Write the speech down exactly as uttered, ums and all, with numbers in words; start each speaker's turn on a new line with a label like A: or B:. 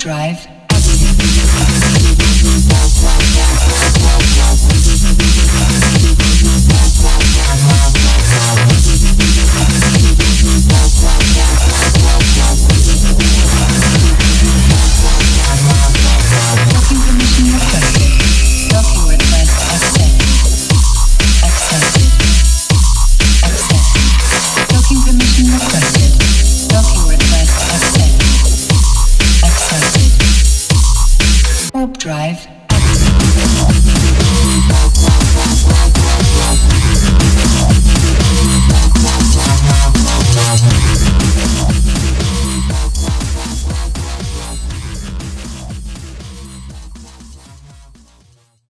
A: drive. Docking permission requested. Docking request accepted. Accepted. Accepted. Docking permission requested. Docking request accepted. Accepted. Warp drive.